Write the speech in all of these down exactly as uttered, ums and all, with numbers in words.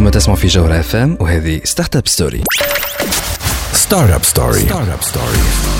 أنتم تسمعوا في جوهرة اف ام وهذه ستارت اب ستوري. ستارت اب ستوري. ستارت اب ستوري.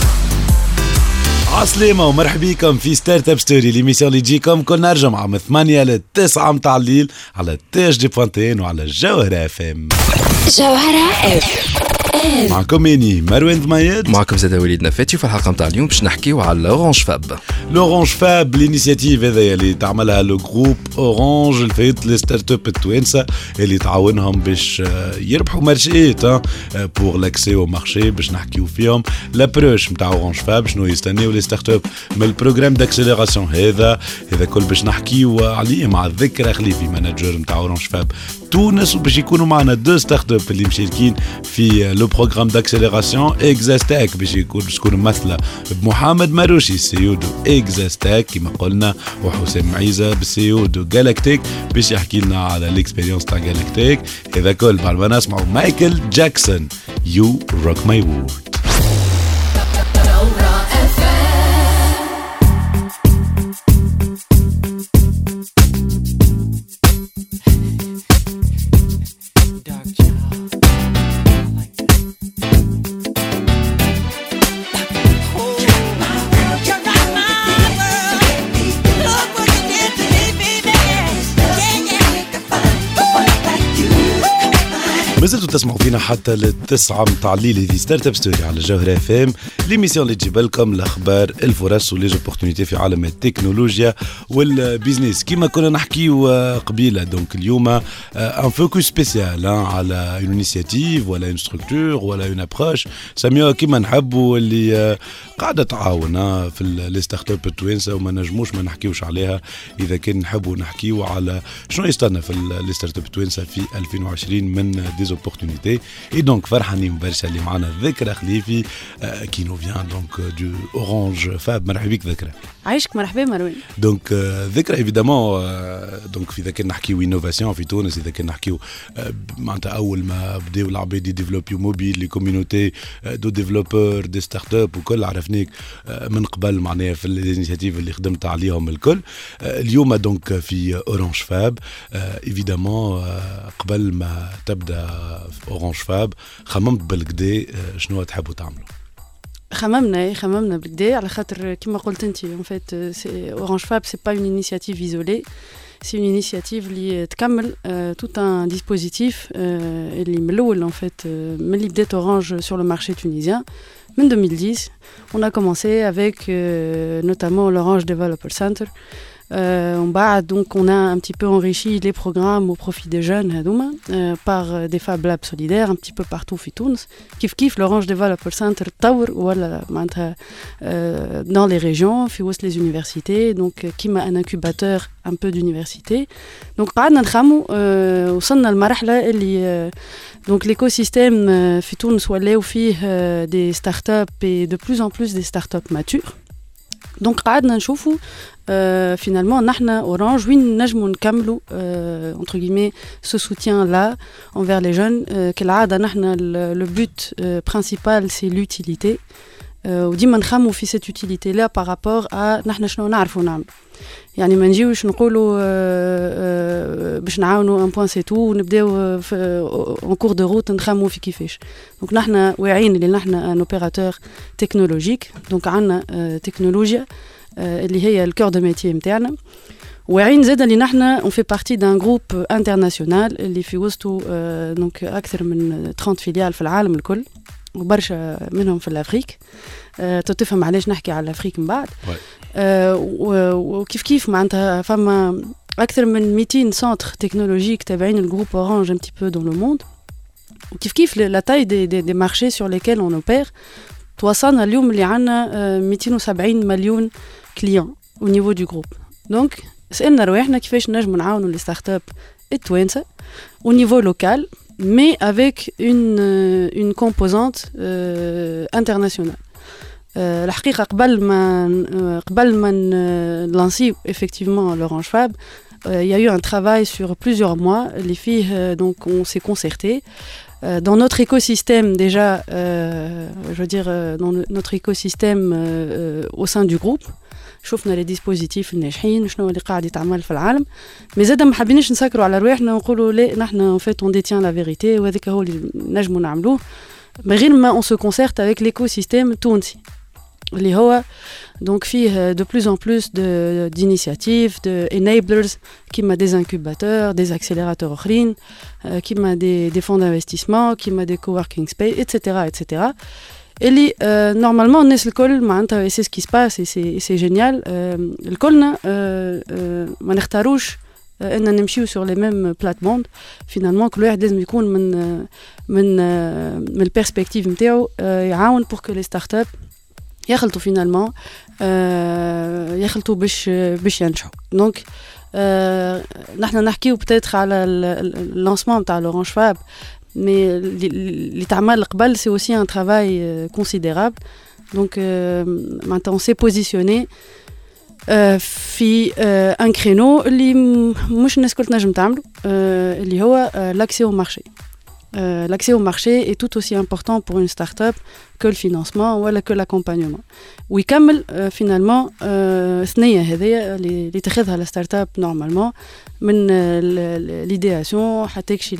عسلامة ومرحبا بكم في ستارت اب ستوري، ليميسيون اللي تجيكم كل نهار جمعة من ثمانية لتسعة متاع الليل على تاج دي بوانتين وعلى جوهرة اف ام. جوهرة اف ام معكم اني مروان ضميد، معكم زاد وليد نفاتي. في الحلقة متاع اليوم باش نحكيو على اورانج فاب. لورانج فاب الانيسياتيف هذايا اللي تعملها لو جروب اورانج الفايت لي ستارت اب التوانسه اللي تعاونهم باش يربحوا مارشيات بور لاكسي او مارشي، باش نحكيو فيهم لابروش نتاع اورانج فاب، شنو يستناو لي ستارت اب من البروغرام داكسيليراسيون هذا هذا كل باش نحكيو عليه مع ذكرى خليفي مانجر نتاع اورانج فاب تونس، وباش يكونوا معنا دو ستارت اب اللي مشاركين في لو بروغرام داكسيليراسيون اكزاستاك، باش يكون تكون ممثله بمحمد ماروشي سيو دو اكزاستاك كما قلنا، وحسام عيزه بالسيو دو جالاكتيك باش يحكي لنا على الاكسبيريونس تاع جالاكتيك. هذا كل بعد ما نسمعوا مايكل جاكسون يو روك ماي وورد. مازلتوا تسمعوا فينا حتى للتسعة متاع الليل في ستارت اب ستوري على جوهرة اف ام، ليميسيون اللي تجيب لكم الاخبار الفرص وليزوبورتونيتي في عالم التكنولوجيا والبيزنس. كما كنا نحكيو قبيله دونك اليوم ان فوكس سبيسيال على اون انيسياتيف ولا اون ستركتور ولا اون ابروش سميوها كما نحبوا، اللي قاعده تعاون في لي ستارت اب التوانسه وما نجموش ما نحكيوش عليها اذا كان نحبوا نحكيو على شنو يستنى في لي ستارت اب التوانسه في ألفين وعشرين من دي opportunités. Et donc فرحانين برشا اللي معنا ذكرى خليفي qui nous vient donc du Orange Fab. مرحبا بك ذكرى. عايشك مرحبا مروان. دونك ذكرى ايفيدامون دونك في اذا كان نحكيو انوفاسيون في تونس، اذا كان نحكيو معناتها اول ما بداو العباد يديفلوبيو موبيل لي كوميونيتي دو ديفلوبور دي ستارت اب وكل عرفنيك من قبل معناها في الانيشيتيف اللي خدمت عليهم الكل. اليوم دونك في اورانج فاب ايفيدامون قبل ما تبدا في اورانج فاب خممت بالكدا شنو تحبوا تعملوا؟ خممنا خممنا بالكدا على خاطر كما قلت انت en fait اورانج فاب c'est pas une initiative isolée, c'est une initiative اللي تكمل euh, tout un dispositif euh, اللي من الاول en fait من اللي بدات اورانج sur le marché tunisien من deux mille dix. On a commencé avec euh, notamment l'Orange Developer Center. Euh, on, bah, donc on a un petit peu enrichi les programmes au profit des jeunes hadouma, euh, par euh, des Fab Labs solidaires un petit peu partout في تونس. كيف كيف l'Orange Developer Center تطور ولا معناتها euh, dans les régions في وسط les universités, donc كيما un incubateur un peu d'université. donc قعدنا نخمو euh, وصلنا لمرحلة اللي euh, donc l'écosystème euh, في تونس ولاو فيه euh, des startups et de plus en plus des startups matures. donc قعدنا نشوفوا Euh, finalement نحنا Orange وين نجمو نكملوا euh, entre guillemets ce soutien là envers les jeunes. euh, كالعادة نحنا le but euh, principal c'est l'utilité euh, وديما نخمو في cette utilité là par rapport à نحنا شنو نعرفوا نعمل. يعني ما نجيوش نقولوا euh, euh, باش نعاونوا un point c'est tout ونبداو في en cours de route نخمو في كيفاش. donc نحنا واعيين اللي نحنا un opérateur technologique, donc عندنا uh, تكنولوجيا اللي هي الكور دو ميتي نتاعنا، وعين زاد اللي نحنا on fait partie d'un groupe international اللي في وسطه دونك اكثر من ثلاثين فيليال في العالم الكل وبرشا منهم في الافريك. تفهم علاش نحكي على الافريك من بعد. وكيف كيف معناتها فما اكثر من مئتين سنتر تكنولوجيك تابعين الجروب اورانج un petit peu dans le monde. وكيف كيف la taille des, des, des marchés sur lesquels on opère توصلنا اليوم اللي عنا مئتين وسبعين مليون كليون au niveau du groupe. donc سألنا رواحنا كيفاش نجمو نعاونوا لي ستارت اب التوانسه au niveau local mais avec une une composante euh, internationale. euh, الحقيقه قبل ما قبل ما نلانسيو effectivement l'Orange Fab, il euh, y a eu un travail sur plusieurs mois. Les filles, euh, donc, on s'est concerté. Euh, dans notre écosystème, déjà, euh, je veux dire, euh, dans le, notre écosystème euh, euh, au sein du groupe, شفنا لي ديسبوزيتيف الناجحين شنو اللي قاعد يتعمل في العالم مي زاد ما حابينش نسكروا على رواحنا ونقولوا لا نحن ان فيت اون ديتيان لا فيريتي وهذاك هو اللي نجموا نعملوه من غير ما اون سو كونسيرت افيك ليكو سيستيم التونسي اللي هو donc فيه de plus en plus de d'initiatives de enablers كيما des incubateurs des accélérateurs اخرين كيما des des fonds d'investissement كيما des coworking space etc etc اللي normalement الناس الكل معناتها c'est ce qui se passe et c'est c'est génial الكلنا ما نختاروش ان نمشيو sur les mêmes plates-bandes finalement كل واحد لازم يكون من من من البيرسبكتيف نتاعو يعاون pour que les startups يخلطوا فينالمون يخلطوا باش باش ينجحوا دونك نحن نحكيو بتاتر على اللانسمون نتاع لورانج فاب مي اللي تعمل قبل سي اوسي ان ترافاي كونسيديرابل دونك معناتها اون سي بوزيسيوني في ان كرينو اللي مش الناس كل تنجم تعملوا اللي هو لاكسي او مارشي Euh, l'accès au marché est tout aussi important pour une start-up que le financement ou que l'accompagnement. ويكمل euh, finalement ثنية هذه اللي تاخذها la start-up normalement من l'idéation حتى يكشي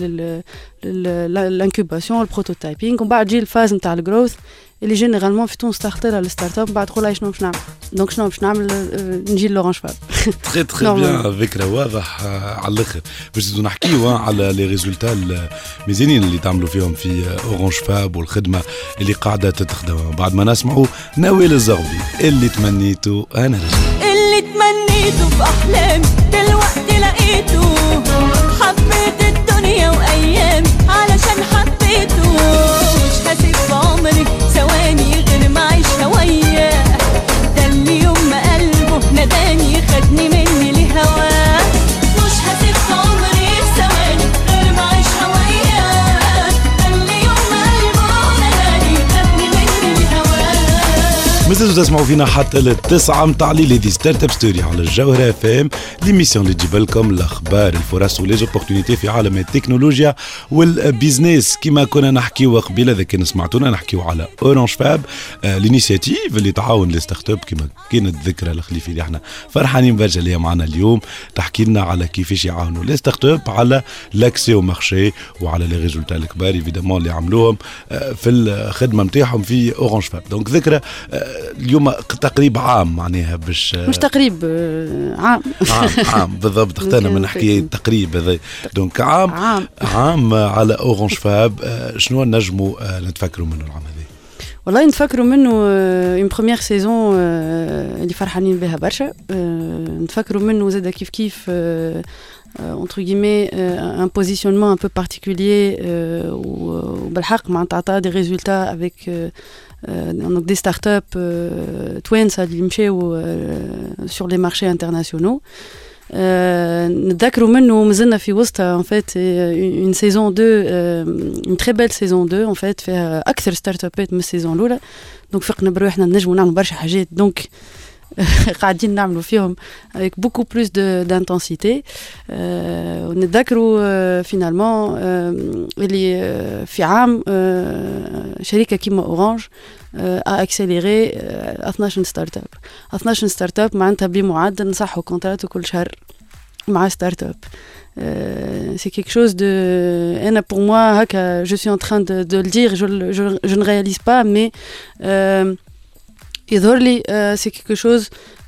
l'incubation, le prototyping ومن بعد تجي الفاز نتاع الجروث اللي جينيرالمون في تونس تختار على الستارت اب بعد تقول شنو باش نعمل دونك شنو باش نعمل نجي لورانج فاب تري تري بيان فكره واضح على الاخر باش نحكيو على لي ريزولتا الميزانين اللي تعملوا فيهم في اورانج فاب والخدمه اللي قاعده تتخدم بعد ما نسمعوا نوال الزغبي اللي تمنيته انا رجل اللي تمنيته في احلامي دلوقتي لقيته حبيت الدنيا وايامي علشان حبيته مش هسيب في عمري ثواني غير ما اعيش هواياه ده اللي يوم ما قلبه ناداني خدني مني لهواه مش هسيب في عمري ثواني غير ما اعيش هواياه ده اللي يوم ما قلبه ناداني خدني مني لهواه. مازلتوا تسمعوا فينا حتى للتسعة متاع ليلي دي ستارت اب ستوري على الجوهرة اف ام ليميسيون اللي تجيب لكم الاخبار الفرص وليزوبورتونيتي في عالم التكنولوجيا والبيزنس كما كنا نحكيو قبيله اذا كان سمعتونا نحكيو على اورانج فاب آه الانيشيتيف اللي تعاون لي ستارت اب كما كانت ذكرى الخليفي اللي احنا فرحانين برجع اللي معنا اليوم تحكي لنا على كيفاش يعاونوا لي ستارت اب على لاكسي او مارشي وعلى لي ريزولتا الكبار ايفيدامون اللي عملوهم آه في الخدمه نتاعهم في اورانج فاب دونك ذكرى آه اليوم تقريبا عام معناها باش مش تقريب عام عام عام بالضبط اخترنا من نحكي تقريب هذا دونك عام عام, عام على اورانج فاب شنو نجموا نتفكروا منه العام هذا والله نتفكروا منه اون بروميير سيزون اللي فرحانين بها برشا نتفكروا منه زاد كيف كيف entre guillemets un positionnement un peu particulier وبالحق معناتها عطا des résultats avec donc des startups twins اللي مشاو sur les marchés internationaux نتذكروا منه مازلنا في وسطها en fait une saison deux une très belle saison deux en fait فيها اكثر ستارت ابات من السيزون الاولى دونك فقنا بروحنا نجموا نعملوا برشا حاجات دونك قاعدين نعملوا فيهم avec beaucoup plus de d'intensité ونتذكروا finalement اللي في عام شركة كيما أورانج a accéléré اثناش ستارت اب اثناش ستارت اب معناتها بمعدل نصحوا كونترات كل شهر مع ستارت اب c'est quelque chose de et pour moi هكا je suis en train de de le dire je je, je ne réalise pas mais euh, يظهر لي c'est quelque chose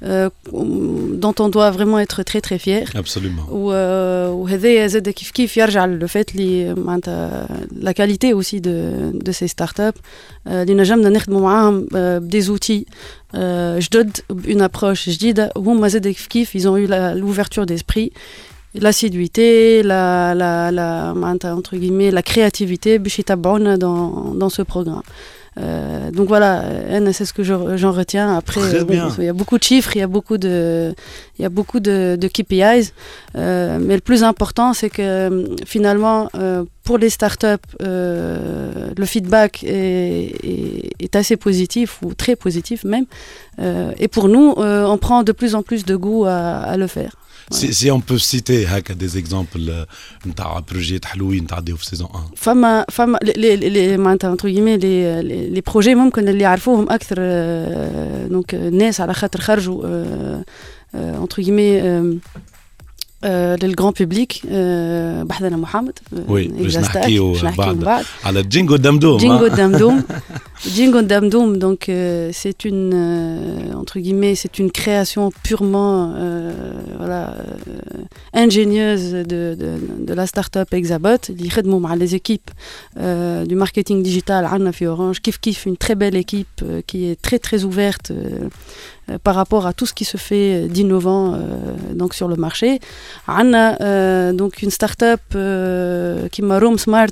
dont on doit vraiment être très très fier. Absolument. وهذا زاد كيف كيف يرجع للفات اللي معناتها la qualité aussi de de ces startups اللي نجمنا نخدموا معاهم بدي outils جدد بune approche جديدة وهم زاد كيف كيف ils ont eu l'ouverture d'esprit l'assiduité la la la معناتها entre guillemets la créativité باش يتبعونا dans dans ce programme. Euh, donc voilà, c'est ce que je, j'en retiens. Après, bon, il y a beaucoup de chiffres, il y a beaucoup de, il y a beaucoup de, de K P Is. Euh, mais le plus important, c'est que finalement, euh, pour les startups, euh, le feedback est, est, est assez positif ou très positif même. Euh, et pour nous, euh, on prend de plus en plus de goût à, à le faire. Si, si on peut citer des exemples de projets حلوين تعديوا في saison un. فما فما les les معناتها entre guillemets les les, les projets ممكن اللي يعرفوهم أكثر donc ناس على خاطر خرجوا entre guillemets آه للجران بيبليك آه بحثنا محمد وي باش نحكيو بعد على جينجو دمدوم جينجو دمدوم جينجو دمدوم donc euh, c'est une euh, entre guillemets c'est une création purement euh, voilà euh, ingénieuse de de de la start-up Exabot اللي يخدموا مع les équipes euh, du marketing digital عندنا في Orange كيف كيف une très belle équipe euh, qui est très très ouverte euh, par rapport à tout ce qui se fait d'innovant euh, donc sur le marché. On a euh, donc une start-up euh, qui m'a Room Smart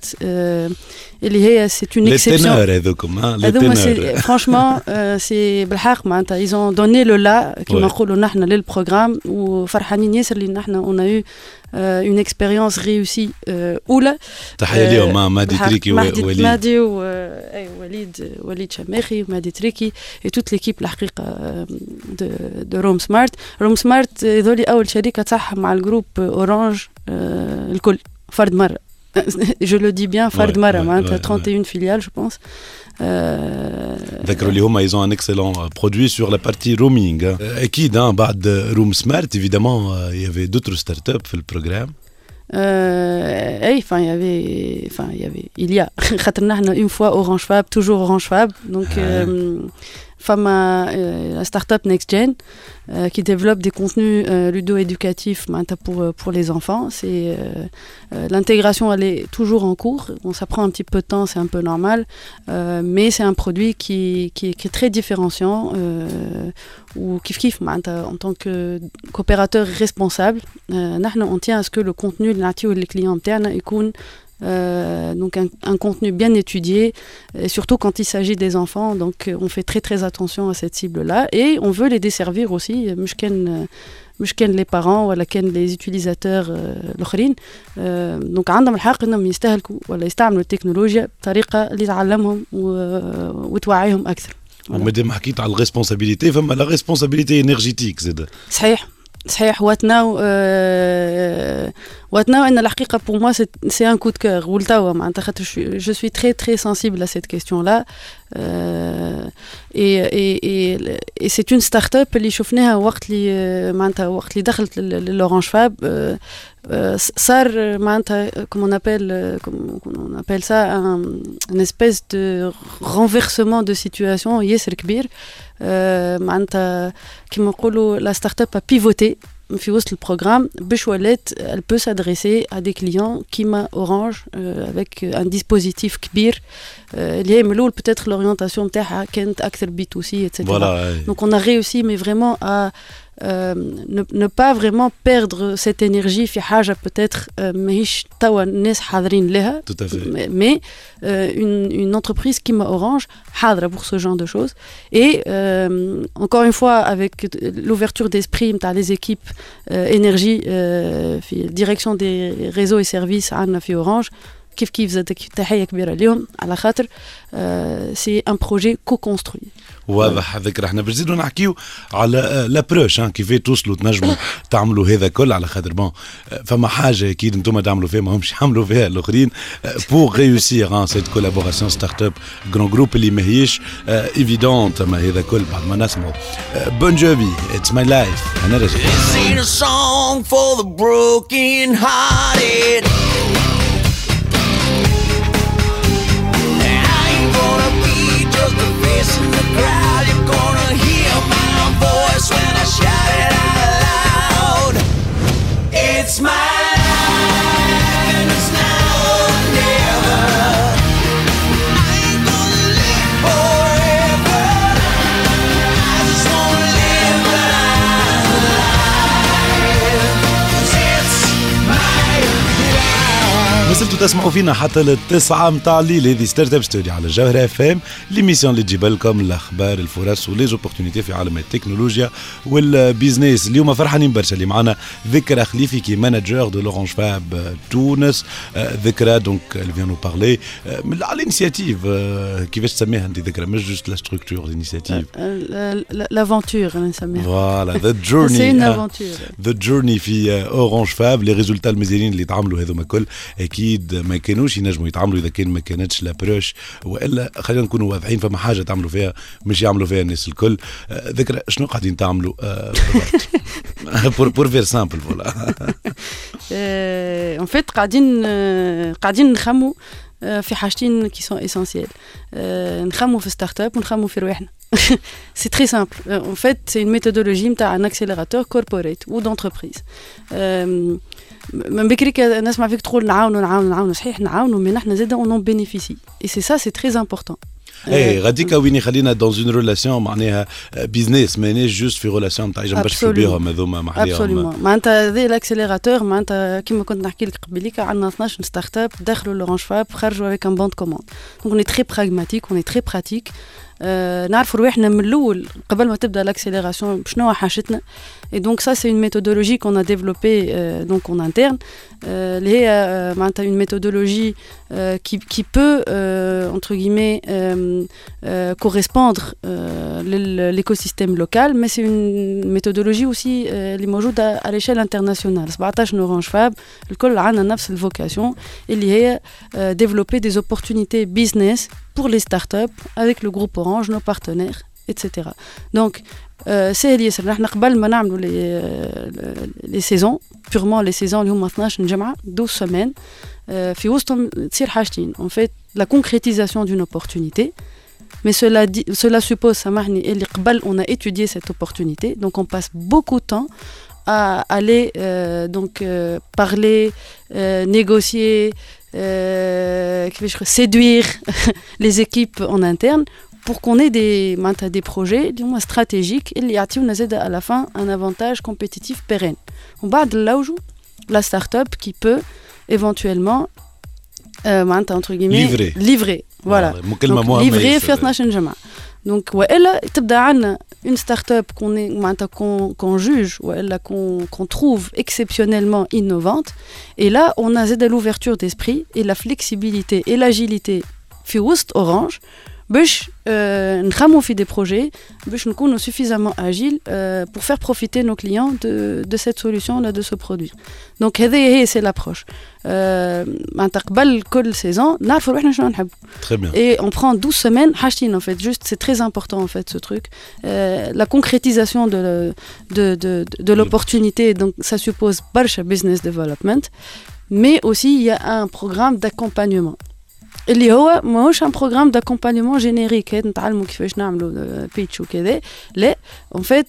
euh, c'est une les exception. Ténors, les ténors. Franchement euh, c'est بالحق معناتها ils ont donné le là qui m'a نقولوا نحن للبروغرام وفرحانين ياسر اللي نحن on a eu euh, une expérience réussie أولى. تحية ليهم مع مادي تريكي ووليد. مادي ووليد وليد شماخي ومادي تريكي et toute l'équipe الحقيقة de de Room Smart. Room Smart هذولي أول شركة صح مع الجروب أورانج الكل فرد مرة. Je le dis bien فرد مرة معناتها trente et une filiales je pense. ذكروا لي هما ils ont un excellent produit sur la partie roaming. أكيد بعد Room Smart évidemment il y avait d'autres startups في البروغرام. Euh, hey, enfin il y avait enfin il y avait il y a خاطرنا احنا une fois Orange Fab toujours Orange Fab donc euh, femme euh, la start-up NextGen euh, qui développe des contenus euh, ludo-éducatifs pour pour les enfants c'est euh, euh, l'intégration elle est toujours en cours bon ça prend un petit peu de temps c'est un peu normal euh, mais c'est un produit qui qui est, qui est très différenciant euh, ou kif kif en tant que coopérateur responsable euh, on tient à ce que le contenu de les clients تاعنا يكون Euh, donc un, un contenu bien étudié et surtout quand il s'agit des enfants donc on fait très très attention à cette cible là et on veut les desservir aussi مش كان مش كان les parents ولا كان les utilisateurs الآخرين donc عندهم الحق انهم يستهلكوا ولا يستعملوا التكنولوجيا بطريقه اللي تعلمهم وتوعيهم اكثر. ومادام حكيت على الريسبونسابيلتي فما لا ريسبونسابيلتي انرجيتيك زاد. صحيح صحيح واتناو euh, واتناو ان الحقيقه pour moi c'est c'est un coup de cœur ولتوا معناتها خاطر je suis très très sensible à cette question là euh, et et et et c'est une start-up اللي شفناها وقت اللي معناتها وقت اللي دخلت للأورانج فاب صار معناتها comme on appelle comme on appelle ça un, une espèce de renversement de situation ياسر كبير معناتها كيما نقولوا la start-up a pivoté في وسط البروغرام باش ولات elle peut s'adresser à des clients كيما Orange euh, avec un dispositif كبير اللي هي من الأول peut-être l'orientation نتاعها كانت أكثر بي تو سي et cetera. Voilà, donc on a réussi mais vraiment à Euh, ne, ne pas vraiment perdre cette énergie في حاجة peut-être ماهيش توا الناس حاضرين لها mais euh, une, une entreprise qui m'a Orange حاضرة pour ce genre de choses et euh, encore une fois avec l'ouverture d'esprit نتاع les équipes euh, énergie euh, في direction des réseaux et services عندنا في Orange كيف كيف زادك تحية كبيرة اليوم على خاطر سي ان بروجي كو كونستروي. واضح ذكر احنا باش نزيدوا نحكيو على لابروش كيفاش توصلوا تنجموا تعملوا هذا كل على خاطر بون فما حاجه اكيد انتم تعملوا فيها ما همش يعملوا فيها الاخرين بور ريوسير سيت كولابوراسيون ستارت اب جران جروب اللي ماهيش ايفيدونت ما هذا كل بعد ما نسمعوا بون جوفي اتس ماي لايف انا راجع. In the crowd, you're gonna hear my voice when I shout it out loud. It's my life and it's now or never. I ain't gonna live forever. I just wanna live my life. 'Cause it's my life. ما زلتوا تسمعوا فينا حتى للتسعة متاع الليل. هذه ستارت اب ستوري على الجوهرة اف ام، ليميسيون اللي تجيب لكم الاخبار الفرص وليزوبورتينيتي في عالم التكنولوجيا والبيزنس. اليوم فرحانين برشا اللي معنا ذكرى خليفي كي مانجر دو لورانج فاب تونس. ذكرى دونك اللي فيان نو بارلي من على الانيشيتيف. كيفاش تسميها انت ذكرى؟ مش جوست لا ستركتور الانيشيتيف، لافونتور نسميها. فوالا ذا جورني، سي اون افونتور ذا جورني في اورانج فاب. لي ريزولتا المزيانين اللي تعملوا هذوما كل اكيد ما كانوش ينجموا يتعاملوا اذا كان ما كانتش لابروش، والا خلينا نكونوا واضحين فما حاجه تعملوا فيها مش يعملوا فيها الناس الكل. ذكرى شنو قاعدين تعملوا بور بور فير سامبل فوالا. ان فيت قاعدين قاعدين نخموا في حاجتين كي سون اسونسييل. نخموا في ستارت اب ونخموا في رواحنا. C'est très simple. En fait, c'est une méthodologie نتاع un accélérateur corporate ou d'entreprise. من بكري نسمع فيك تقول نعاونوا نعاونوا نعاونوا، صحيح نعاونوا، mais نحن زاده on en bénéficie. Et c'est ça, c'est très important. اي غادي كويني خلينا دون اون ريلاسيون معناها بيزنس، مانيش جوست في ريلاسيون تاع جنبش بهم هذوما محليهم. ابسوليومون. معناتها ذي الاكسيليراتور معناتها كيما كنت نحكي لك قبيليك عندنا اثناش ستارت اب دخلوا لورانج فاب خرجوا avec un bon de commande. Donc on est très pragmatique, on est très pratique. Euh, نعرفوا رواحنا من الاول قبل ما تبدا الاكسيليراسيون شنو حاجتنا. Et donc ça c'est une méthodologie qu'on a développée euh, donc en interne. اللي euh, هي معناتها une méthodologie euh, qui qui peut euh, entre guillemets euh, euh, correspondre euh, l'écosystème local, mais c'est une méthodologie aussi اللي موجوده à l'échelle internationale. سبعطاش اورانج فاب الكل عندنا نفس الفوكاسيون اللي هي euh, développer des opportunités business pour les startups avec le groupe Orange, nos partenaires, et cetera. Donc, c'est lié. نحن قبل ما نعملوا les les saisons, purement les saisons اللي هما اثناش جمعة douze semaines, في وسطهم تصير حاجتين. En fait, la concrétisation d'une opportunité, mais cela dit, cela suppose, سامحني، اللي قبل on a étudié cette opportunité, donc on passe beaucoup de temps à aller euh, donc euh, parler, euh, négocier, euh, séduire les équipes en interne pour qu'on ait des, des projets stratégiques et à la fin un avantage compétitif pérenne. On va de là où la start-up qui peut éventuellement euh, entre guillemets livrer, livrer. Voilà. Donc, livrer في اثناش جمعة. Donc والا تبدا عندنا une start-up qu'on est qu'on qu'on juge ou qu'on qu'on trouve exceptionnellement innovante, et là on a de l'ouverture d'esprit et la flexibilité et l'agilité في وسط Orange باش نخمو في des projets باش نكونوا suffisamment agiles euh, pour faire profiter nos clients de de cette solution là, de ce produit. Donc هذه هي c'est l'approche. معناتها قبل كل saison نعرفوا روحنا شنو نحبوا. Très bien. Et on prend douze semaines حاجتين en fait, juste c'est très important en fait ce truc. Euh, la concrétisation de de de de, de l'opportunité, donc ça suppose برشا business development, mais aussi il y a un programme d'accompagnement. اللي هو ماهوش ان بروغرام d'accompagnement générique نتعلموا كيفاش نعملوا بيتش وكذا، لا en fait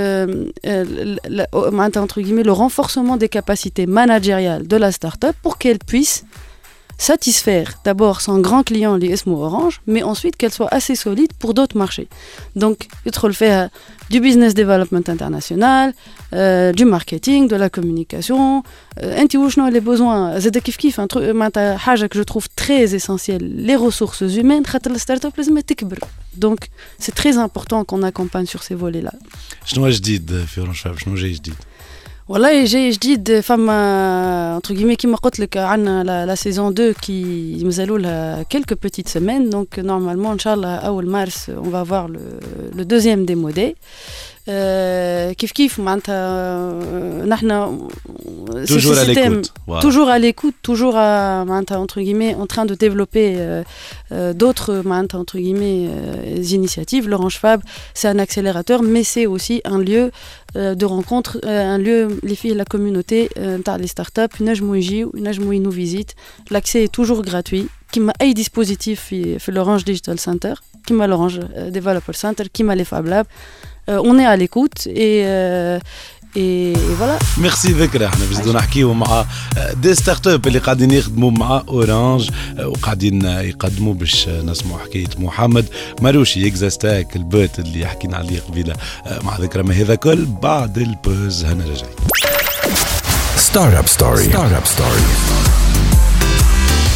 معناتها entre guillemets le renforcement des capacités managériales de la start-up pour qu'elle puisse satisfaire d'abord son grand client اللي اسمه Orange, mais ensuite qu'elle soit assez solide pour d'autres marchés. Donc يدخل فيها du business development international, euh, du marketing, de la communication. انت وشنو les besoins زاد كيف كيف معناتها حاجه que je trouve très essentielle, les ressources humaines خاطر الستارت لازم تكبر. Donc c'est très important qu'on accompagne sur ces volets là. شنو جديد في اورانج فاب؟ شنو جاي جديد؟ والله جاي جديد فما entre guillemets كيما قلت لك عندنا la, la saison deux qui مازالوا لها quelques petites semaines, donc normalement ان شاء الله اول مارس on va voir le le deuxième démodé. Euh, كيف كيف معناتها نحنا toujours à l'écoute, wow. toujours à l'écoute, toujours à معناتها entre guillemets en train de développer euh, euh, d'autres معناتها entre guillemets euh, initiatives. L'Orange Fab, c'est un accélérateur, mais c'est aussi un lieu euh, de rencontre, euh, un lieu les filles, la communauté نتاع les startups ينجموا يجيو ينجموا nous visitent. L'accès est toujours gratuit. كيما اي dispositif في في l'Orange Digital Center, كيما l'Orange Developer Center, كيما les Fab Lab. Euh, on est à l'écoute et euh, et, et voilà. Merci ذكرى. احنا بزيدو نحكيو مع دي ستارت اب اللي قاعدين يخدموا مع اورانج وقاعدين يقدموا باش نسمعوا حكايه محمد ماروشي اكزاستاك البوت اللي حكينا عليه قبيله مع ذكرى. ما هذا كل بعد البوز هنا راجعين. ستارت اب ستوري ستارت اب ستوري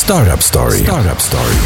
Startup Story. Startup Story.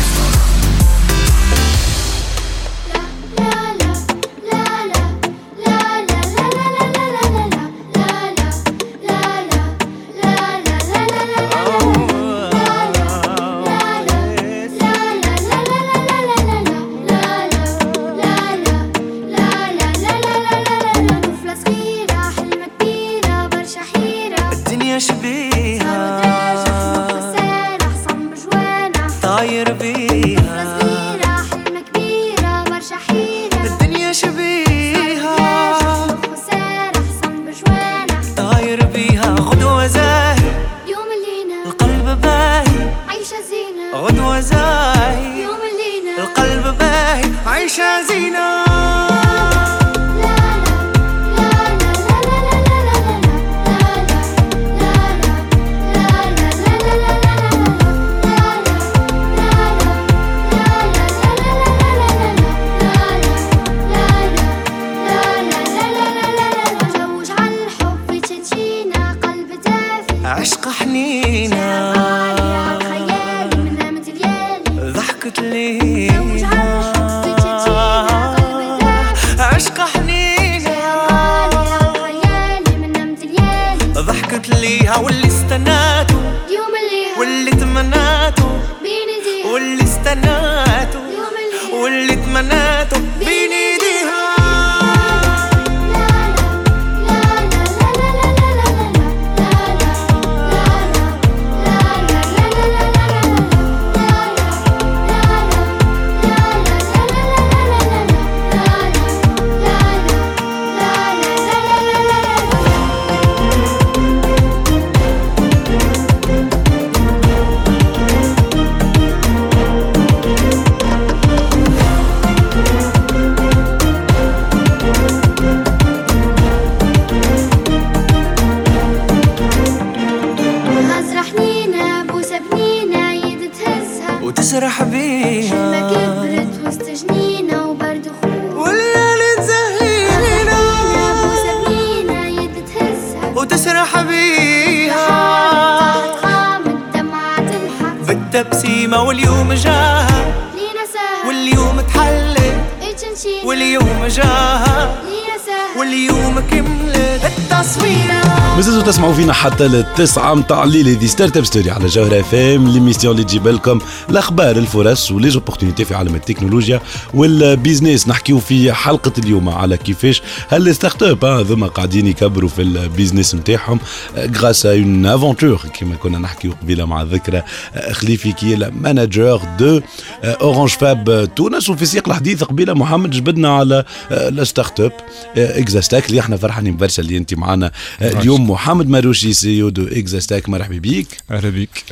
تسمعوا فينا حتى للتسعة متاع الليل. هذه ستارت اب ستوري على جوهرة اف ام، ليميسيون اللي تجيب لكم الاخبار الفرص وليزوبورتينيتي في عالم التكنولوجيا والبيزنس. نحكيو في حلقة اليوم على كيفاش هالستارت اب هذوما قاعدين يكبروا في البيزنس نتاعهم غراس ا اون افونتور كما كنا نحكيو قبيله مع ذكرى خليفي كي مانجر دو اورانج فاب تونس. وفي سياق الحديث قبيله محمد جبدنا على الستارت اب اكزاستاك اللي احنا فرحانين برشا اللي انت معنا اليوم. محمد ماروشي سي او دو اكزاستاك، مرحبا بيك. اهلا بك.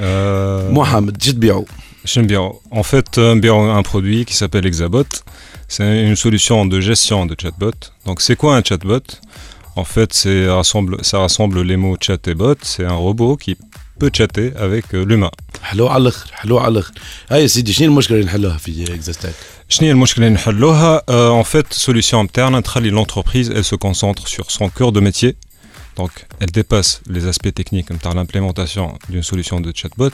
محمد شو تبيعوا؟ شنو نبيعوا؟ En fait, نبيعوا un produit qui s'appelle Exabot. C'est une solution de gestion de chatbot. Donc c'est quoi un chatbot? En fait, c'est rassemble ça rassemble les mots chat et bot. C'est un robot qui peut chatter avec l'humain. حلو على الاخر، حلو على الاخر. هاي سيدي شنو المشكله اللي نحلوها في اكزاستاك؟ شنو هي المشكله اللي نحلوها؟ En fait, solution interne تخلي l'entreprise elle se concentre sur son cœur de métier. Donc, elle dépasse les aspects techniques comme par l'implémentation d'une solution de chatbot.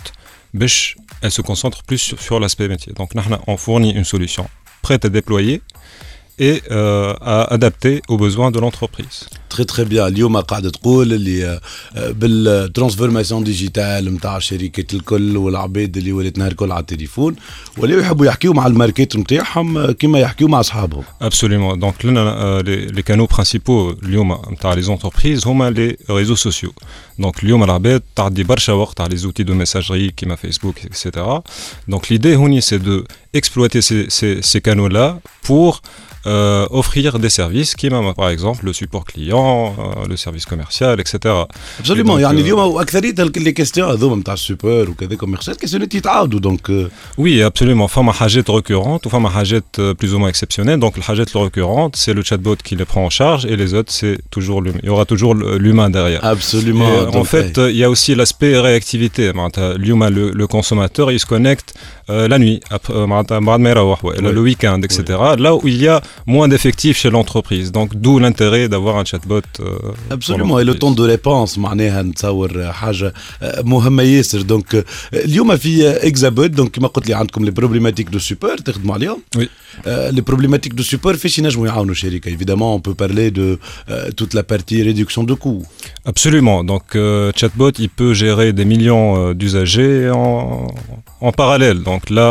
Elle se concentre plus sur, sur l'aspect métier. Donc, on fournit une solution prête à déployer et euh, à adapter aux besoins de l'entreprise. Très très bien. اليوم قاعد تقول اللي بالترانسفورماسيون ديجيتال نتاع الشركات الكل والعباد اللي ولات نهار الكل على التليفون ولاو يحبوا يحكيوا مع الماركات نتاعهم كما يحكيوا مع اصحابهم. Absolument. Donc لنا les, les canaux principaux اليوم نتاع les entreprises هما les réseaux sociaux. Donc اليوم العباد تعدي برشا وقت على les outils de messagerie كيما فيسبوك et cetera. Donc l'idée هوني c'est de exploiter ces ces, ces canaux là pour Euh, offrir des services qui même par exemple le support client, euh, le service commercial, et cetera. Absolument. يعني اليوم أكثرية les questions هذوما نتاع السوبر وكذا commercial questions يتعاودوا donc. Oui, absolument. فما حاجات récurrentes ou فما حاجات plus ou moins exceptionnelles. Donc الحاجات récurrentes c'est le chatbot qui les prend en charge et les autres c'est toujours l'humain. Il y aura toujours l'humain derrière. Absolument. Et, en fait, il hey. y a aussi l'aspect réactivité. L'humain, le, le consommateur, il se connecte euh, la nuit, après, euh, le week-end, et cetera. Oui. Là où il y a moins d'effectifs chez l'entreprise. Donc d'où l'intérêt d'avoir un chatbot. Euh, Absolument, et le temps de réponse معناها نتصور حاجة مهمة ياسر. دونك اليوم في إكزابوت دونك كما قلت لي عندكم لي بروبليماتيك دو سوبور تخدموا عليهم. Oui. لي بروبليماتيك دو سوبور فاش ينجموا يعاونوا الشركة. Évidemment, on peut parler de euh, toute la partie réduction de coûts. Absolument. Donc euh, chatbot, il peut gérer des millions euh, d'usagers en, en parallèle. Donc là,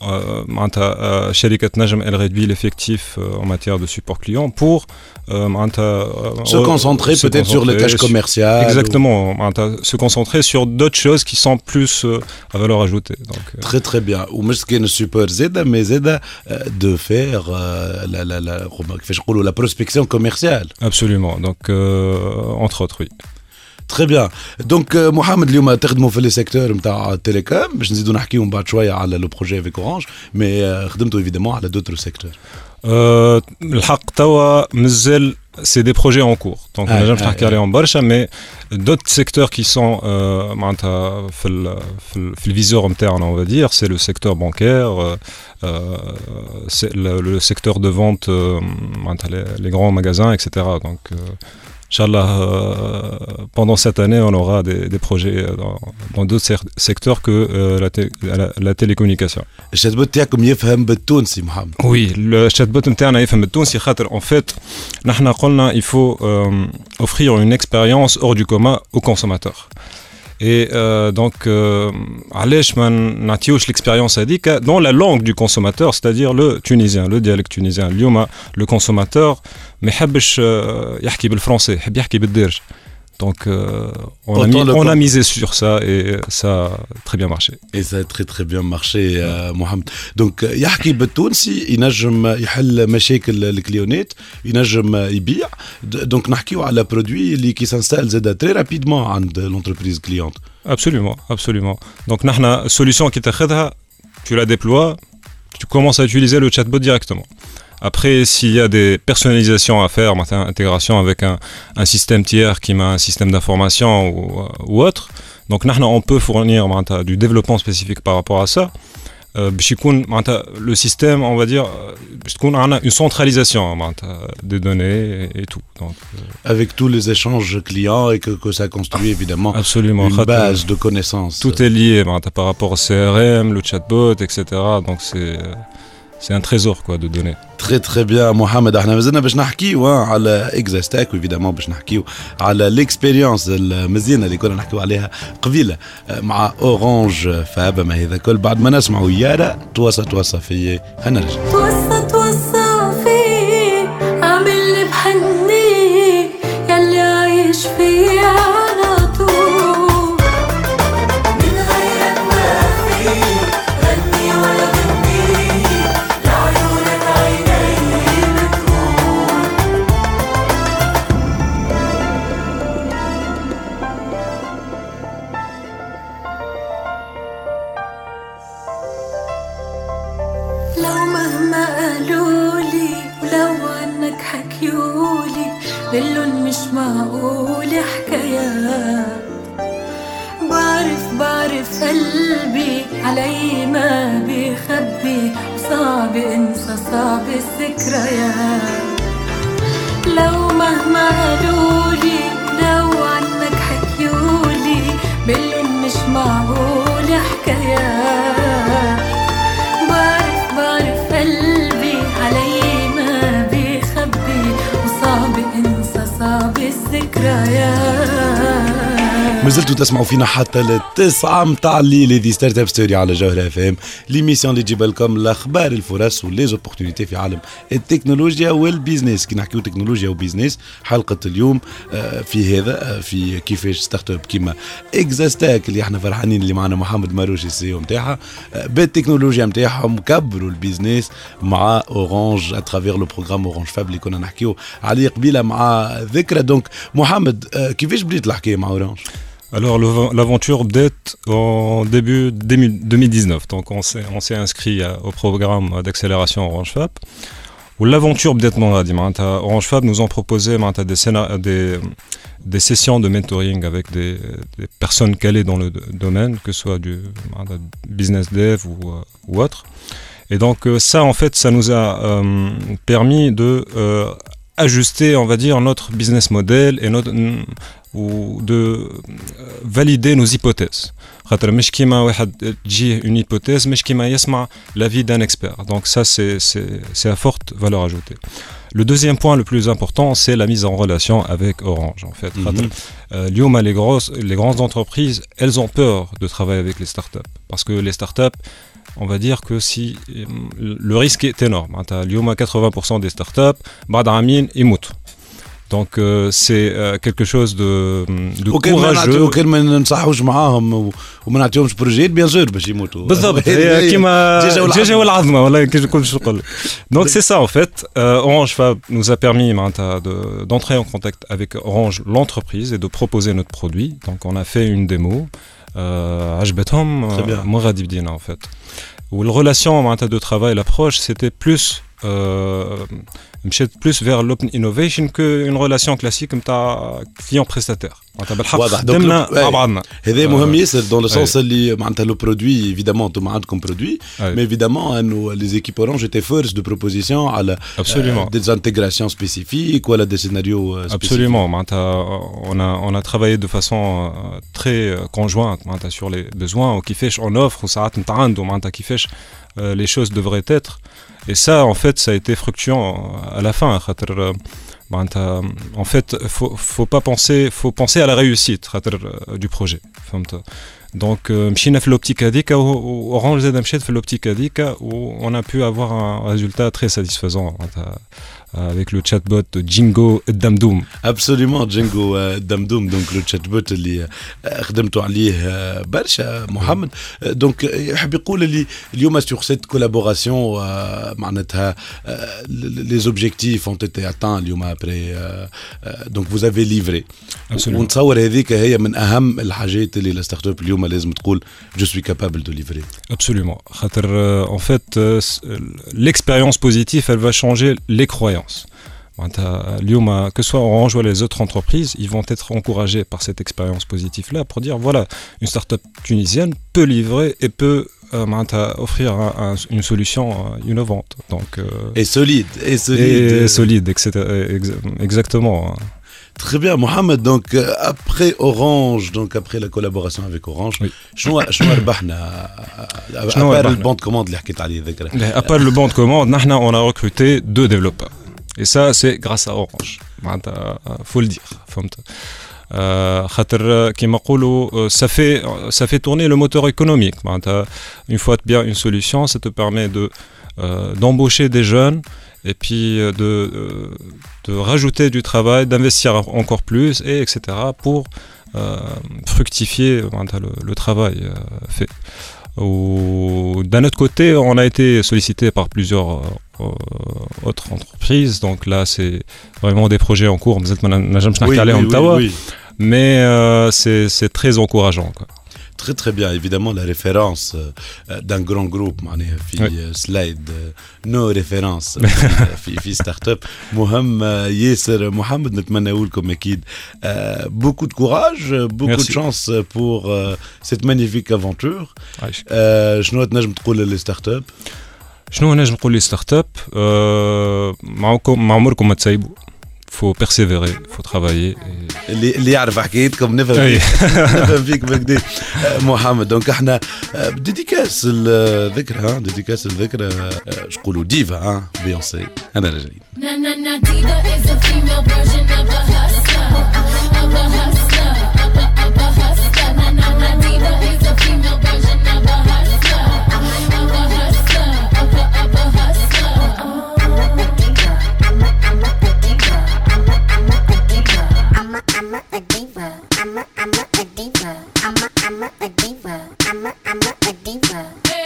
euh, Sherikat Najm, elle réduit l'effectif euh, en matière de support client pour euh, se concentrer se peut-être concentrer sur le cash commercial. Exactement. Ou... se concentrer sur d'autres choses qui sont plus euh, à valeur ajoutée. Donc, euh... Très très bien. Ou مش كان السوبر زاده mais زاده de faire euh, la la la كيفاش نقولوا la prospection commerciale. Absolument. Donc euh, entre autres, oui. Très bien. Donc محمد اليوم تخدموا في لي سيكتور نتاع التليكوم باش نزيدوا نحكيوا من بعد شويه على لو بروجي افيك اورانج مي خدمتوا ايفيدامون على دوتر سيكتور. أه الحق توا مازال c'est des projets en cours. Donc on a jamais نحكي عليهم برشا mais d'autres secteurs qui sont euh, معناتها في ال في ال في الفيزور نتاعنا on va dire c'est le secteur bancaire euh, c'est le, le secteur de vente euh, معناتها les, les grands magasins et cetera. Donc euh, Inch'Allah, euh, pendant cette année, on aura des, des projets dans, dans d'autres secteurs que euh, la, té- la, la télécommunication. Le chatbot تاعكم يفهم بالتونسي محمد. Oui, le chatbot نتاعنا يفهم بالتونسي خاطر en fait, نحنا قلنا il faut euh, offrir une expérience hors du commun aux consommateurs. Et euh, donc, علاش ما نعطيوش l'expérience هذيك dans la langue du consommateur, c'est-à-dire le tunisien, le dialecte tunisien. اليوم le consommateur ما يحبش يحكي بالفرنسي، يحب يحكي بالدارج. Donc, euh, on, a mis, on a misé sur ça et ça a très bien marché. Et ça a très très bien marché, euh, Mohamed. Donc, يحكي بالتونسي ينجم يحل مشاكل الكليونات، ينجم يبيع. Donc, نحكيو على برودوي اللي كي s'installe زاد très rapidement عند l'entreprise cliente. Absolument, absolument. Donc, نحنا solution qui تاخذها, tu la déploies, tu commences à utiliser le chatbot directement. Après, s'il y a des personnalisations à faire, intégration avec un, un système tiers qui met un système d'information ou, ou autre, donc on peut fournir du développement spécifique par rapport à ça. Euh, le système, on va dire, une centralisation des données et, et tout. Donc, euh, avec tous les échanges clients et que, que ça construit évidemment absolument. Une base de connaissances. Tout est lié par rapport au C R M, le chatbot, et cetera. Donc c'est... C'est un trésor quoi de données. Très très bien محمد. احنا مازلنا باش نحكيو على اكزاستاك وإيفيدامون باش نحكيو على الاكسبيريونس المزيانه اللي كنا نحكيو عليها قبيله مع اورانج فاب. ما هذا كل بعد ما نسمعوا يارا توصى توصى في هنرجع. توصى توصى في عامل لي بحني يلي عايش في على طول من غيرك ما في غني ولا بلون مش معقول حكايات. بعرف بعرف قلبي علي ما بيخبي وصعب انسى صعب الذكريات. لو مهما قالولي لو عنك حكيولي بلون مش معقول حكايات. بعرف بعرف قلبي علي ما بيخبي وصعب انسى صعب الذكريات. مازلتوا تسمعوا فينا حتى للتسعة متاع الليل. هذه ستارت اب ستوري على جوهرة اف ام، ليميسيون اللي تجيب لكم الاخبار الفرص وليزوبورتينيتي في عالم التكنولوجيا والبيزنس. كي نحكيو تكنولوجيا وبيزنس حلقة اليوم في هذا في كيفاش ستارت اب كيما اكزاستاك اللي احنا فرحانين اللي معنا محمد ماروشي السي او نتاعها بالتكنولوجيا نتاعهم كبروا البيزنس مع اورانج اترافير لو بروغرام اورانج فاب اللي كنا نحكيو عليه قبيله مع ذكرى. دونك محمد كيفاش بديت الحكايه مع اورانج؟ Alors l'aventure date en début deux mille dix-neuf, donc on s'est, on s'est inscrit au programme d'accélération Orange Fab. Où l'aventure date Orange Fab nous ont proposé des, scénar- des, des sessions de mentoring avec des, des personnes calées dans le domaine, que ce soit du business dev ou, ou autre. Et donc euh, ça, en fait, ça nous a euh, permis de euh, ajuster, on va dire, notre business model et notre ou de valider nos hypothèses. خاطر مش كيما واحد تجيه une hypothèse مش كيما يسمع l'avis d'un expert. Donc ça c'est c'est c'est à forte valeur ajoutée. Le deuxième point le plus important, c'est la mise en relation avec Orange en fait. خاطر اليوم les grosses les grandes entreprises, elles ont peur de travailler avec les startups parce que les startups, on va dire que si le risque est énorme. اليوم quatre-vingts pour cent des startups بعد عامين يموتوا. Donc euh, c'est euh, quelque chose de, de courageux. وكان ما ننصحوش معاهم وما نعطيهمش بروجيت بيان سور باش يموتوا. بالضبط كيما الدجاجة والعظمة والله كي نقول شو نقول. Donc c'est ça en fait. Euh, Orange Fab nous a permis de, d'entrer en contact avec Orange l'entreprise et de proposer notre produit. Donc on a fait une démo. عجبتهم ما غادي بدينا en fait. Où la relation de travail, l'approche, c'était plus euh, plus vers l'open innovation qu'une relation classique comme ta client prestataire. هذا مهم ياسر dans le sens اللي معناتها le produit évidemment انتم عندكم produit mais évidemment انه les équipes Orange étaient force de proposition على des intégrations spécifiques ou à des scénarios spécifiques. Absolument, on a on a travaillé de façon très conjointe sur les besoins qui fait on offre ou ça qui fait les choses devraient être. Et ça, en fait, ça a été fructueux à la fin. En fait, faut faut pas penser, faut penser à la réussite du projet. Donc, مشينا في l'optique هذيك Orange زاد مشات في l'optique هذيك où on a pu avoir un résultat très satisfaisant avec le chatbot Django Damdoum. Absolument, Django Damdoum, donc le chatbot اللي خدمتوا عليه برشا محمد. Donc يحب يقول اللي اليوم sur cette collaboration معناتها les objectifs ont été atteints اليوم après donc vous avez livré. ونتصور هذيك هي من أهم الحاجات اللي الستارت اب اليوم لازم تقول je suis capable de livrer. Absolument. خاطر en fait l'expérience positive elle va changer les croyances. Que ce soit Orange ou les autres entreprises, ils vont être encouragés par cette expérience positive-là pour dire voilà, une start-up tunisienne peut livrer et peut euh, offrir un, un, une solution euh, innovante. Donc, euh, et solide. Et solide. Et solide, et cetera. Exactement. Très bien, Mohamed. Donc après Orange, donc après la collaboration avec Orange, شنو شنو ربحنا à part le bon de commande اللي حكيت عليه ذكره. À part le bon de commande, نحن on a recruté deux développeurs. Et ça c'est grâce à Orange. معناتها faut le dire. فهمت. خاطر كيما نقولوا ça fait ça fait tourner le moteur économique. معناتها une fois bien une solution, ça te permet de euh, d'embaucher des jeunes et puis de de rajouter du travail, d'investir encore plus et etc pour euh, fructifier le, le travail euh, fait. Ou, d'un autre côté, on a été sollicité par plusieurs euh, autres entreprises, donc là c'est vraiment des projets en cours, oui, oui, oui, oui. mais euh, c'est c'est très encourageant quoi. Très très bien, évidemment la référence euh, d'un grand groupe معناها في oui. slide no référence في في ستارت اب مهم ياسر محمد نتمنى لكم اكيد euh, beaucoup de courage, beaucoup Merci. de chance pour euh, cette magnifique aventure. شنو تنجم تقول للستارت اب؟ شنو نجم نقول للستارت اب؟ معكم مع عمركم ما تسيبوا. faut persévérer, faut travailler. اللي اللي يعرف حكايتكم نفهم نفهم فيك بكدا محمد. دونك احنا ديديكاس الذكرى ها ديديكاس الذكرى اش نقولوا ديفا ها بيونسي انا راجعين.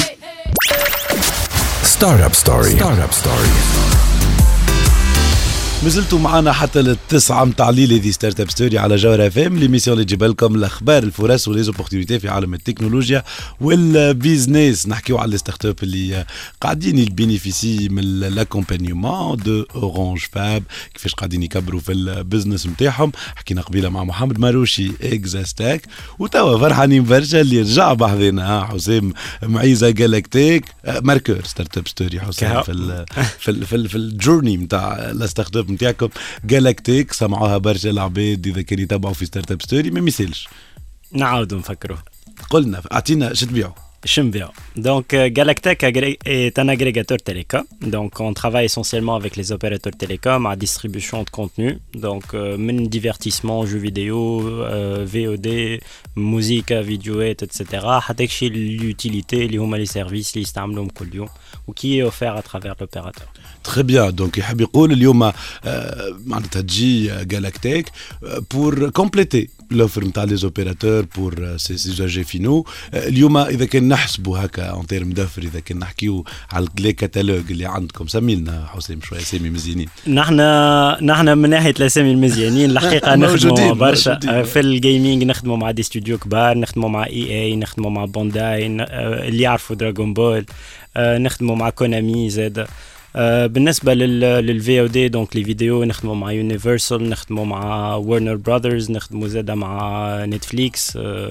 Startup Story. Startup Story. مازلتوا معنا حتى للتسعة متاع الليل هذه ستارت اب ستوري على جوهر اف ام، ليميسيون اللي تجيب لكم الاخبار الفرص وليزوبورتينيتي في عالم التكنولوجيا والبيزنس. نحكيو على الستارت اب اللي قاعدين يبينيفيسي من لاكومبانيومون دو اورانج فاب، كيفاش قاعدين يكبروا في البزنس نتاعهم. حكينا قبيله مع محمد ماروشي اكزاستاك، وتوا فرحانين برشا اللي رجع بحذنا حسام معيزه جالاكتيك ماركور ستارت اب ستوري. حسام في ال في ال في, ال في الجورني نتاع الستارت اب نتاعكم جالاكتيك، سمعوها برشا العباد اذا كانوا يتابعوا في ستارت اب ستوري، ما مثالش نعاودوا نفكروا. قلنا اعطينا شو تبيعوا. Chimbia. Donc euh, Galactech est un agrégateur télécom. Donc on travaille essentiellement avec les opérateurs télécoms à distribution de contenu. Donc euh, divertissement, jeux vidéo, euh, V O D, musique, vidéoette, et cetera. حتى شيء l'utilité اللي هما les services اللي يستعملوهم كل يوم وكي est offert à travers l'opérateur. Très bien. Donc يحب يقول اليوم معناتها تجي Galactech pour compléter l'offre نتاع les opérateurs pour ces usagers finaux. اليوم إذا كان نحسبوا هكا en termes d'offre، إذا كان نحكيو على لي كاتالوج اللي عندكم، سميلنا حسام شوية أسامي مزيانين. نحن نحن من ناحية الأسامي المزيانين الحقيقة نخدموا برشا في الجيمنج، نخدموا مع دي استوديو كبار، نخدموا مع إي إي، نخدموا مع بونداي اللي يعرفوا دراغون بول، نخدموا مع كونامي زاد. بالنسبة للفي او دي دونك لي فيديو نخدموا مع يونيفرسال، نخدموا مع ورنر براذرز، نخدموا زاده مع نتفليكس.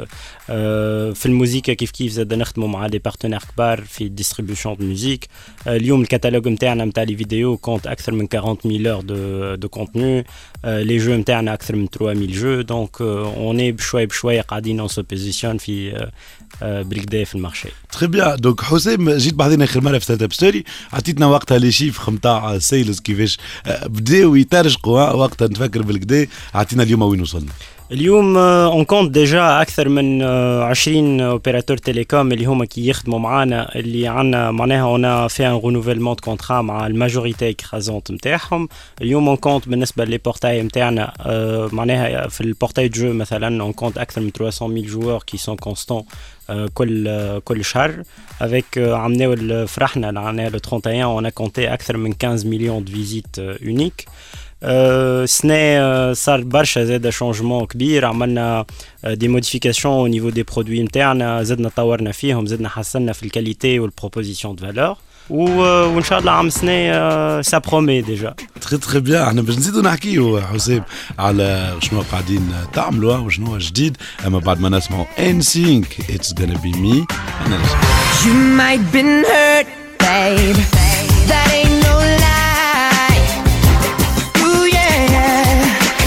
في الموسيقى كيف كيف زاده نخدموا مع دي بارتنير كبار في ديستريبيوشن دو ميوزيك. اليوم الكتالوج نتاعنا نتاع لي فيديو كونت اكثر من أربعين مية اور دو دو كونتوني. لي جو نتاعنا اكثر من ثلاثمية جو. دونك اون بشوي بشوي قاعدين اون سو بوزيسيون في بالكدا في المارشي. تري بيان. دونك حسام جيت بعدين اخر مره في ستارت اب ستوري عطيتنا وقتها لي شيف نتاع سيلز كيفاش بداو يترجقوا وقتها نتفكر بالكدا. عطينا اليوم وين وصلنا. اليوم اون كونت ديجا اكثر من عشرين اوبيراتور تيليكوم اللي هما كي يخدموا معنا، اللي عندنا معناها اون في ان رونوفيلمون دو كونترا مع الماجوريتي كرازونت نتاعهم. اليوم اون كونت بالنسبه لي بورتاي نتاعنا معناها في البورتاي جو مثلا اون كونت اكثر من ثلاثمية مية جوار كي سون كونستون كل كل شهر. افيك عملناو فرحنا عملنا لو واحد وثلاثين اون كونتي اكثر من خمسة مليون دو فيزيت اونيك. سنة صار برشا زاد شونجمون كبير، عملنا دي موديفيكاسيون او نيفو دي برودوي نتاعنا، زدنا طورنا فيهم، زدنا حسنا في الكاليتي والبروبوزيسيون دو فالور، وان شاء الله عام سنة سا برومي ديجا. تري تري بيان. احنا باش نزيدو نحكيو حسام على شنو قاعدين تعملوا وشنو جديد، اما بعد ما نسمعوا إن سينك It's gonna be me. انا You might been hurt, babe. That ain't no lie. Ooh yeah.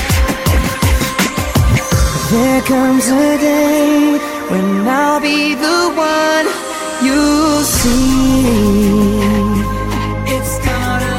There comes a day when I'll be the one you see. It's gonna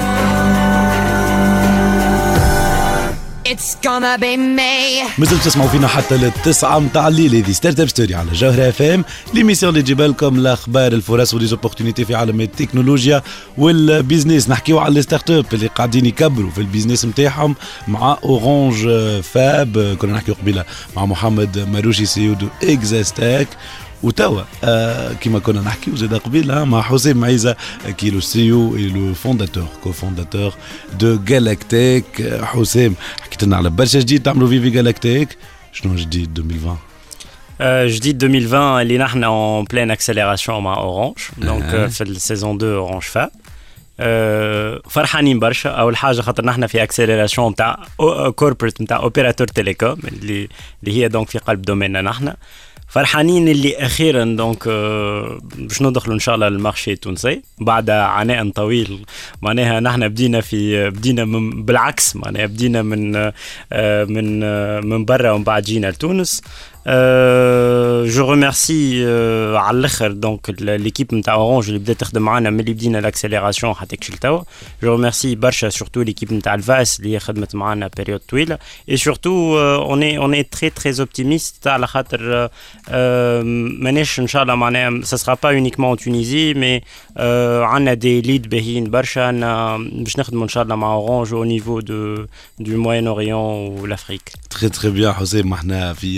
It's gonna be me. مازلتوا تسمعوا فينا حتى للتسعة متاع الليل. هذه ستارت اب ستوري على جوهر اف ام، ليميسيون اللي تجيب لكم الاخبار الفرص وليزوبورتينيتي في عالم التكنولوجيا والبيزنس. نحكيو على الستارت اب اللي قاعدين يكبروا في البيزنس نتاعهم مع اورانج فاب. كنا نحكيو قبيله مع محمد ماروشي سي او دو اكزاستاك، وتوا آه كما كنا نحكيو زاد قبيله مع حسام معيزه كي لو سي او اي لو فونداتور كو فونداتور دو جالاكتيك. حسام حكيت لنا على برشا جديد تعملوا في في جالاكتيك، شنو جديد ألفين وعشرين؟ جديد ألفين وعشرين اللي نحن اون بلين اكسليراسيون مع اورانج. دونك في السيزون اثنين اورانج فاب فرحانين برشا. اول حاجه خاطر نحن في اكسليراسيون نتاع كوربريت نتاع اوبيراتور تيليكوم اللي اللي هي دونك في قلب دوميننا. نحن فرحانين اللي اخيرا دونك باش ندخلوا ان شاء الله للمارشي التونسي بعد عناء طويل. معناها نحن بدينا في بدينا من بالعكس، معناها بدينا من من من برا ومن بعد جينا لتونس. جو ريميرسي على الاخر دونك ليكيب نتاع اورانج اللي بدات تخدم معنا من اللي بدينا لاكسيليراسيون حتى كشل توا. جو ريميرسي برشا سورتو ليكيب نتاع الفاس اللي خدمت معنا بيريود طويله. اي سورتو اون اي اون اي تري تري اوبتيميست على خاطر مانيش ان شاء الله معناها سا سرا با اونيكمون تونيزي مي عندنا دي ليد باهيين برشا باش نخدموا ان شاء الله مع اورانج او نيفو دو دو موين اوريون والافريك. تري تري بيان حسام. احنا في ستارت اب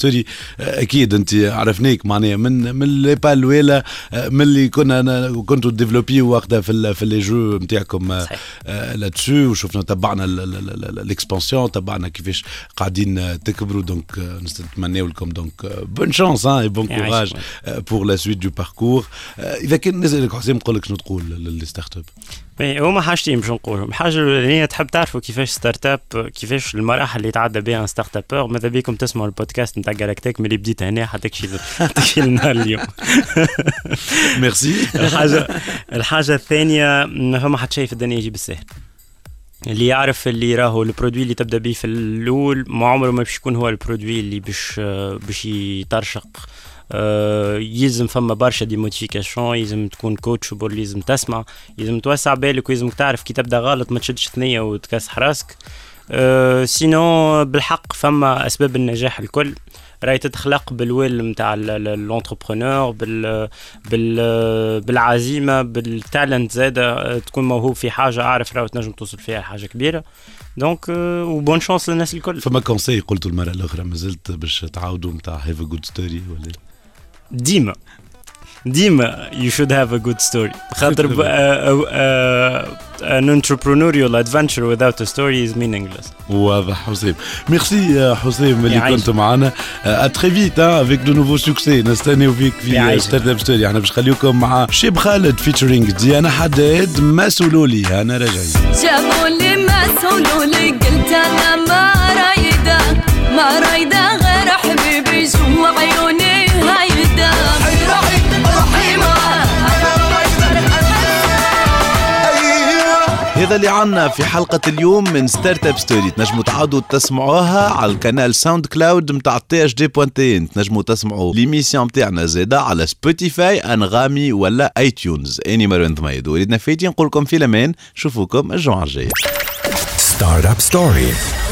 ستوري اكيد انت عرفناك معناها من من لي با الاولى من اللي كنا كنتوا ديفلوبي وقتها في في لي جو نتاعكم لاتسو وشفنا تبعنا الاكسبانسيون تبعنا كيفاش قاعدين تكبروا دونك نتمناو لكم دونك بون شانس اي بون كوراج بور لا سويت دو باركور. اذا كان نسالك حسام نقول لك شنو تقول للستارت اب؟ هما حاجتين باش نقولهم. الحاجه الاولانيه تحب تعرفوا كيفاش ستارت اب كيفاش المراحل اللي تعدى بها ستارت ابور. ماذا بيكم تسمعوا البودكاست نتاع جالاكتيك من اللي بديت هنا حتى تكشي تكشي النهار اليوم. ميرسي. الحاجه الحاجه الثانيه فما حد شيء في الدنيا يجي بالسهل. اللي يعرف اللي راهو البرودوي اللي تبدا به في الاول ما عمره ما باش يكون هو البرودوي اللي باش باش يطرشق. آه يلزم فما برشا دي موديفيكاسيون، يلزم تكون كوتشبل، يلزم تسمع، يلزم توسع بالك، ويلزم تعرف كي تبدا غلط ما تشدش ثنيه وتكسح راسك. آه سينو بالحق فما اسباب النجاح الكل راهي تتخلق بالويل نتاع الانتربرونور، بال بال بالعزيمه، بالتالنت زاده، تكون موهوب في حاجه اعرف راهو تنجم توصل فيها حاجه كبيره. دونك وبون شانس للناس الكل. فما كونساي قلتوا المره الاخرى مازلت باش تعاودوا نتاع هاف ا جود ستوري ولا ديما ديما you should have a good story. خاطر uh, uh, uh, an entrepreneurial adventure without a story is meaningless. واضح حسام. ميرسي حسام اللي كنت معنا. اتري فيت افيك دو نوفو سوكسي نستناو فيك في ستارت اب ستوري. احنا باش نخليكم مع شيب خالد فيتشرينج ديانا حداد. ما سولولي انا راجعين جابوا لي ما سولولي قلت انا ما رايده ما رايده غير حبيبي جوا عيوني هيدا هذا اللي عنا في حلقة اليوم من ستارت اب ستوري. تنجموا تعودوا تسمعوها على القناة ساوند كلاود متاع تي اش دي بوان تي ان. تنجموا تسمعوا ليميسيون متاعنا زادا على سبوتيفاي، انغامي ولا اي تيونز. اني مروان ضميد وليدنا فايتين نقول لكم في الامان، نشوفوكم الجمعة الجاية. ستارت اب ستوري.